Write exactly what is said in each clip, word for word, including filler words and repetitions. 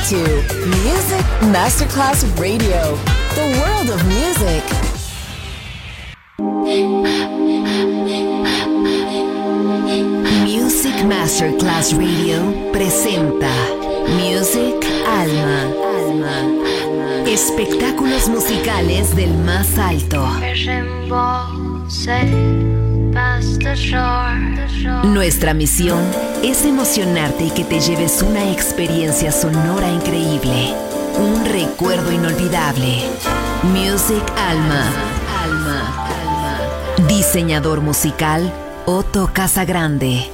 to Music Masterclass Radio, the world of music. Music Masterclass Radio presenta Music Alma. Alma. Espectáculos musicales del más alto. Nuestra misión es emocionarte y que te lleves una experiencia sonora increíble, un recuerdo inolvidable. Music Alma. Alma. Alma. Diseñador musical Otto Casagrande.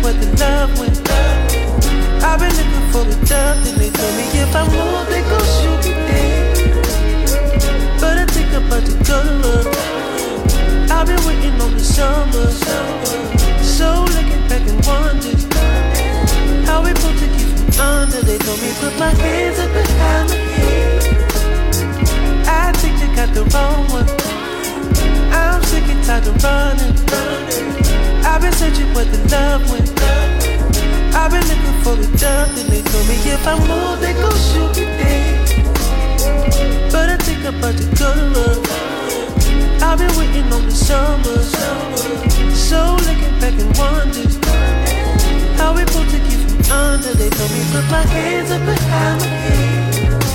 where the love went. I've been looking for the dove, then they told me if I move, they gon' shoot me dead. But I think I'm about to go to work. I've been waiting on the summer, so looking back and wonder how we both took you from under. They told me put my hands up behind my head. I think you got the wrong one. I'm sick and tired of running. I've been searching where the love went. I've been looking for the dove, and they told me if I move, they gon' shoot me dead. But I think I'm about to go to work. I've been waiting on the summer, so looking back and wonder how we both took you from under. They told me put my hands up behind my head.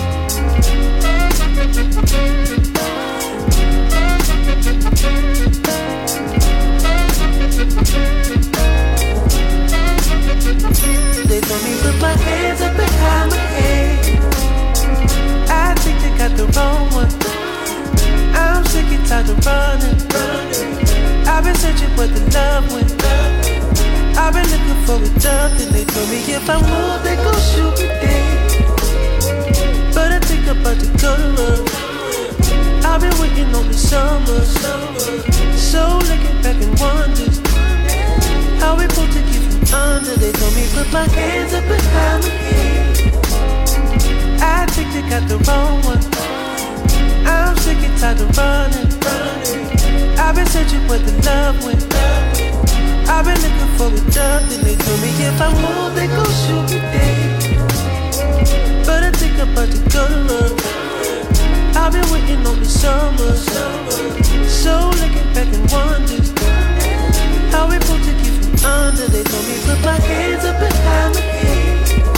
They told me put my hands up behind my head. I think they got the wrong one. I'm sick and tired of running. I've been searching where the love went. I've been looking for a dove, and they told me if I move, they gon' shoot me dead. But I think I'm about to go to work. I've been waiting on the summer, so looking back and wonder how we both took you from under. They told me put my hands up behind my head. I think they got the wrong one. I'm sick and tired of running. I've been searching where the love went. I've been looking for a dove, and they told me if I move, they gon' shoot me dead. But I think I'm about to go to work. I've been waiting on the summer, so looking back and wonder how we both took you from under. They told me put my hands up behind my head.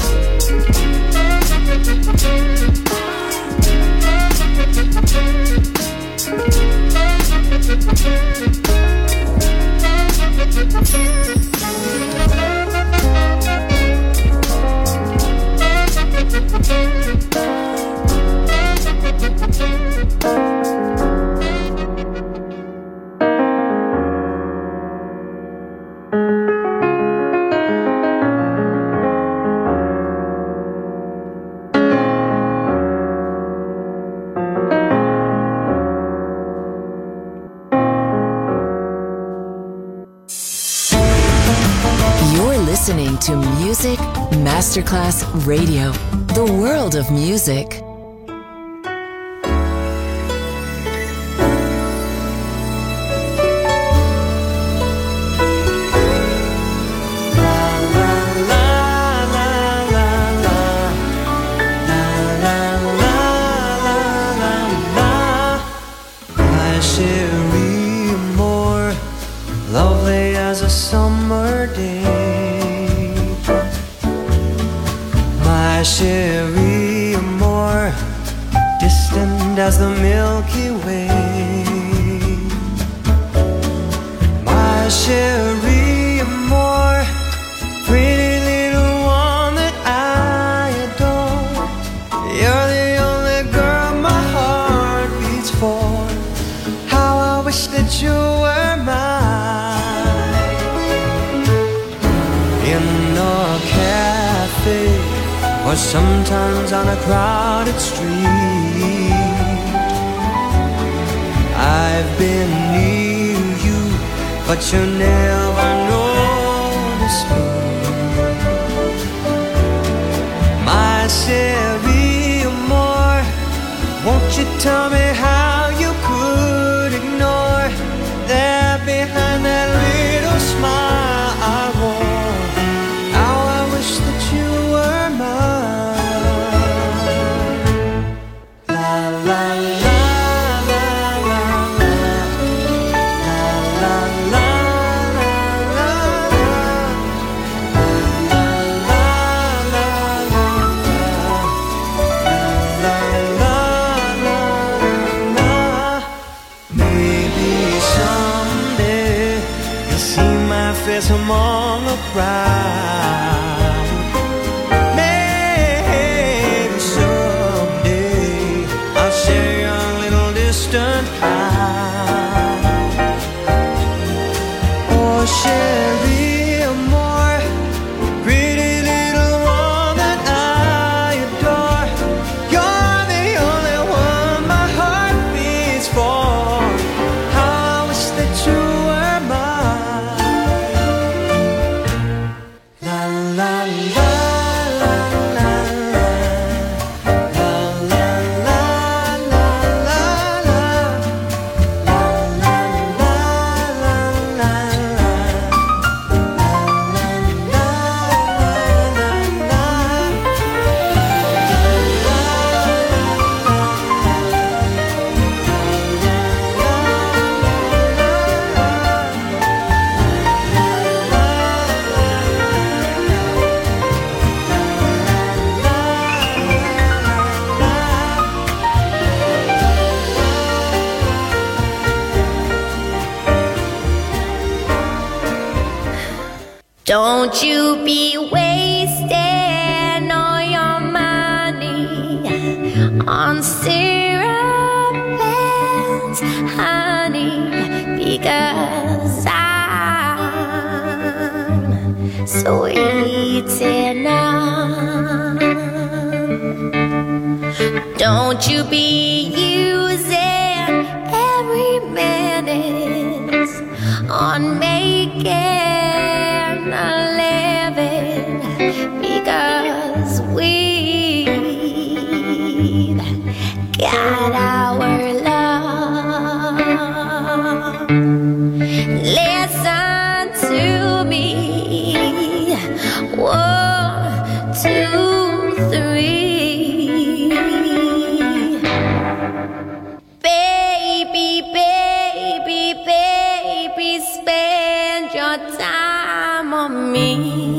Listening to Music Masterclass Radio, the world of music. Cherie, more distant as the Milky Way. My Cherie, more pretty little one that I adore. You're the only girl my heart beats for. How I wish that you were mine. In a cafe, or sometimes on a crowded street, I've been near you, but you never noticed me. My Cherie, more, won't you tell me how you could ignore that behind that little smile I wore? How I wish that you were mine. La Don't you be wasting all your money on syrup and honey, because I'm sweet enough. Don't you be using every minute on making a living, because we've got our love. Listen to me. One, two, three. Baby, baby, baby, spend your time on me.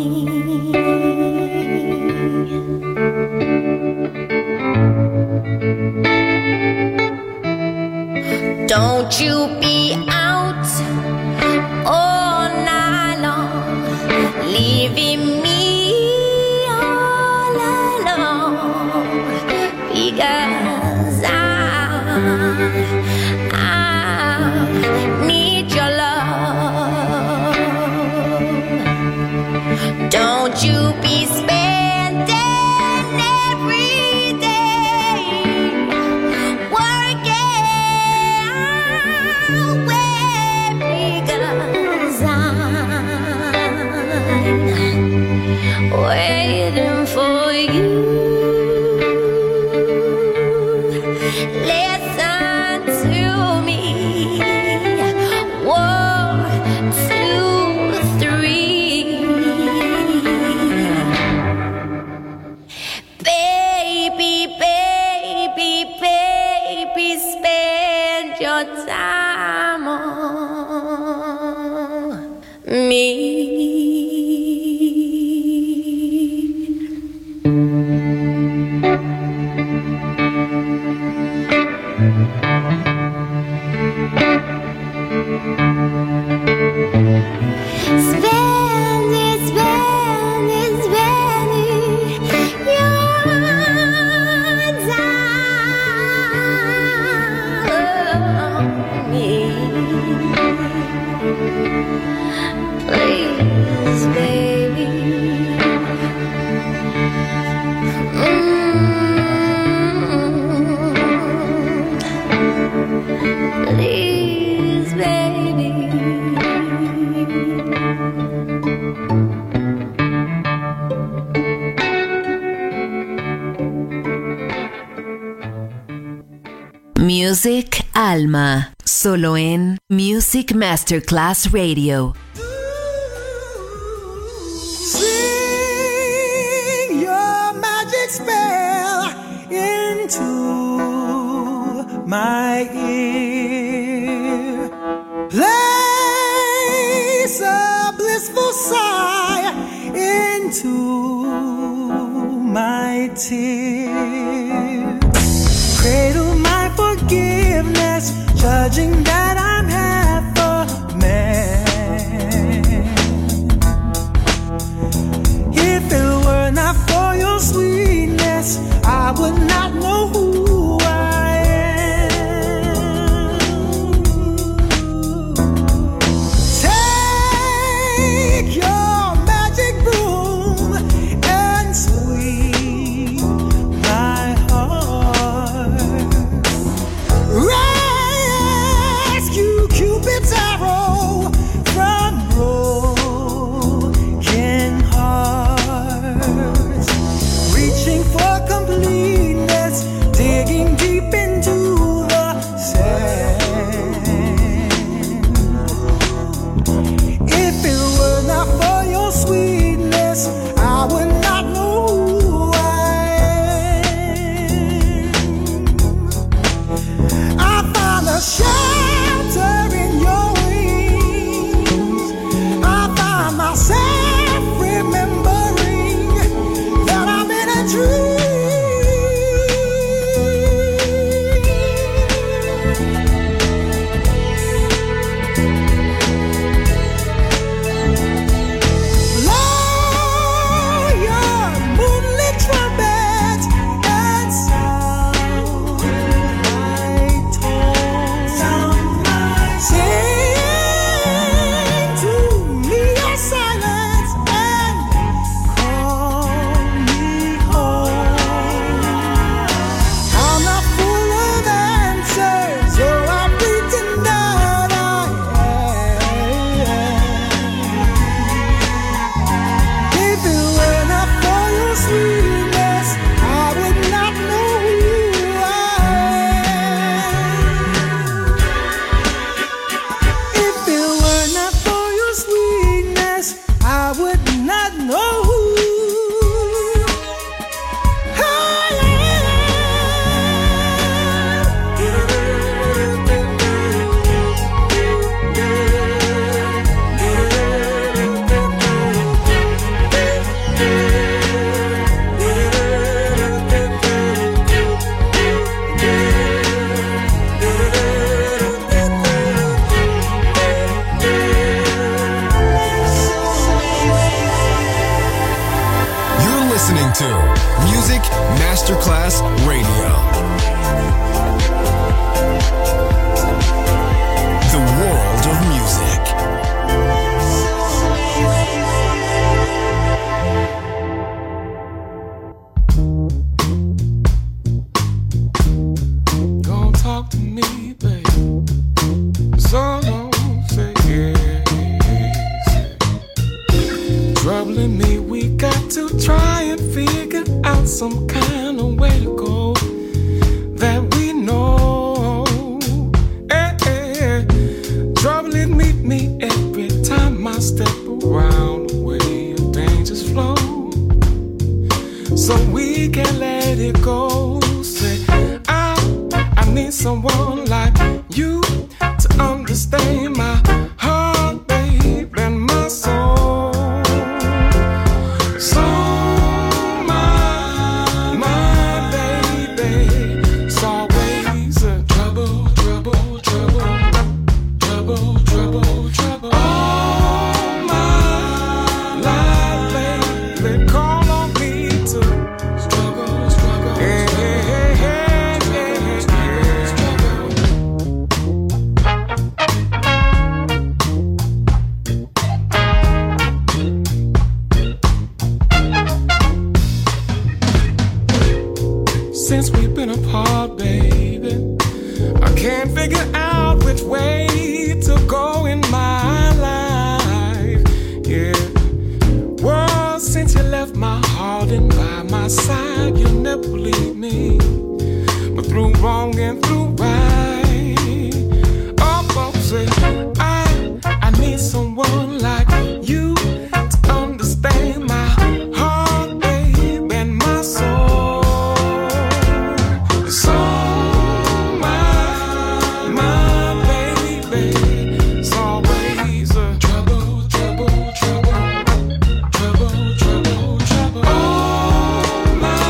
Don't you be out all night long, leaving me all alone, because I, I need your love. Don't you be spending every day working away, because I'm waiting for you. Listen to me. One, two, three. Baby, baby, baby, spend your time on me. Spend it, spend it, spend it, your time on me. Please, baby. Mm-hmm. Please, baby. Music Alma, solo en Music Masterclass Radio. Sing your magic spell into my ear. Place a blissful sigh into my tear. Cradle my forgiveness, judging that I'm half a man. If it were not for your sweetness, I would not know who I am. Take your magic broom and sweep my heart. Rescue Cupid's arrow from broken hearts. Reaching for completeness, digging deep into the sand. If it were not for your sweetness, I would not know who I am. I found a shelter in your wings. I found myself remembering that I'm in a dream. Music Masterclass Radio. The world of music. Don't talk to me, babe. So don't say yes. Troubling me, we got to try and figure out some kind of way to go that we know. Eh, eh. Troubling meet me every time I step around the way of danger's flow. So we can let it go. Say, I, I need someone like you to understand my heart, babe, and my soul. So my, my baby, it's always a trouble, trouble, trouble, trouble, trouble, trouble. All my life, baby, call on me to struggle, struggle, yeah, yeah, yeah, yeah, yeah, struggle. Since we've been apart, baby, I can't figure out which way to go in my life. Yeah. Well, since you left my heart and by my side, you'll never leave me. But through wrong and through right, oh, folks say I, I need someone like you to understand my heart, babe, and my soul. So my, my baby, it's always a trouble, trouble, trouble, trouble, trouble, trouble. Oh, my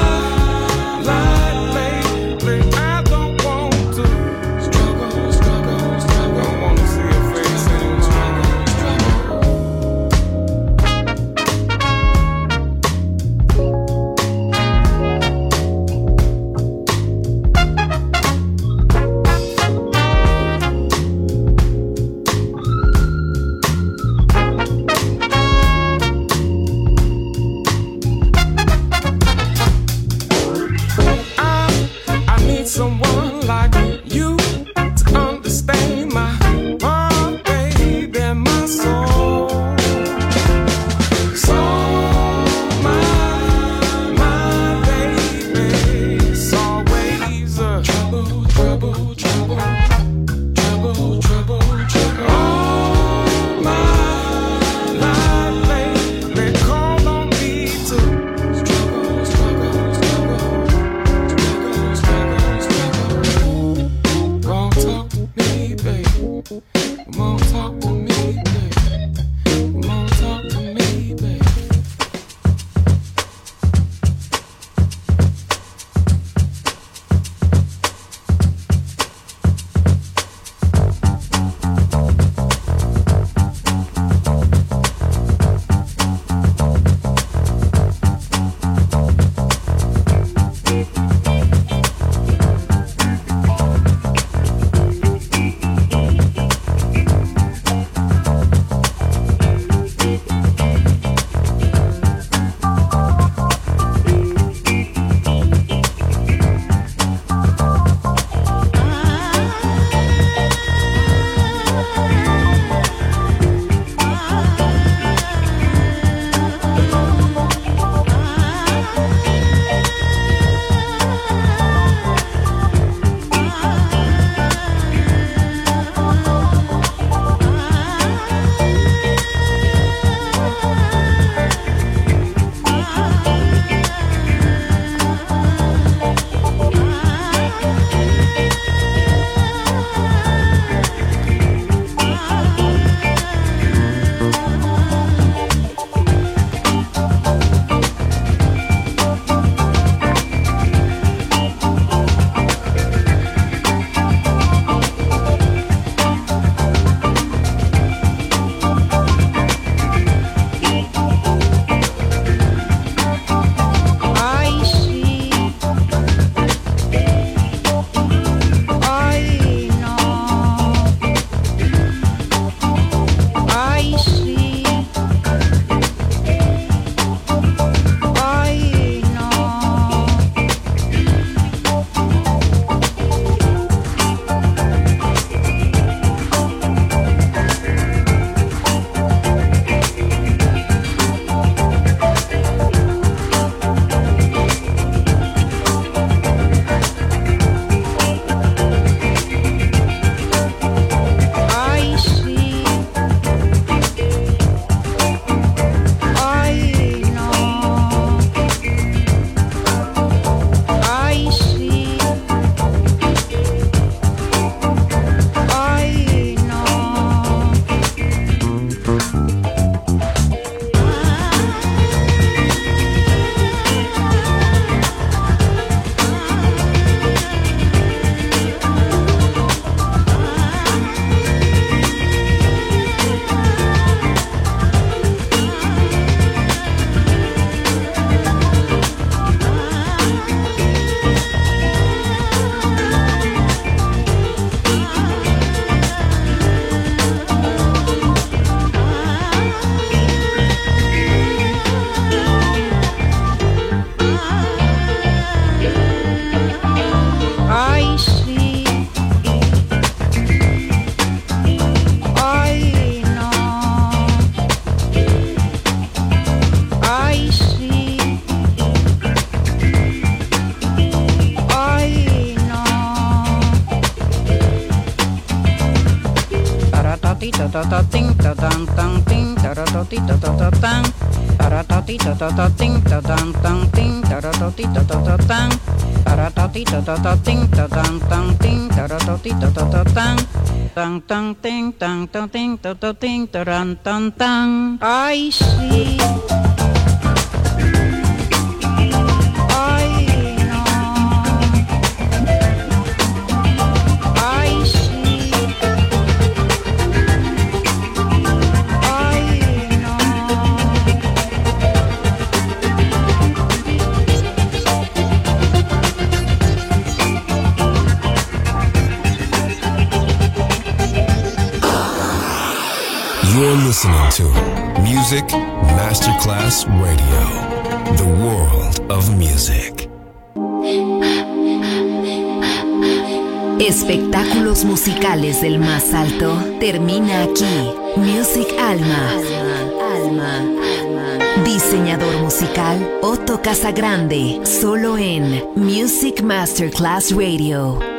ta ta ting ta tan tan ting ta ra ta ti ta ta ta tan para ta ti ta ta ta ting ta tan tan ting ta ra ta ti ta ta ta tan para ta ti ta ta ta ting ta tan tan ting ta ra ta ti ta ta ta tan tan tan ting tan tan ting ta ta ting ta ran tan tan. Ay sí. You're listening to Music Masterclass Radio, the world of music. Espectáculos musicales del más alto termina aquí. Music Alma. Alma. Alma. Diseñador musical Otto Casagrande, solo en Music Masterclass Radio.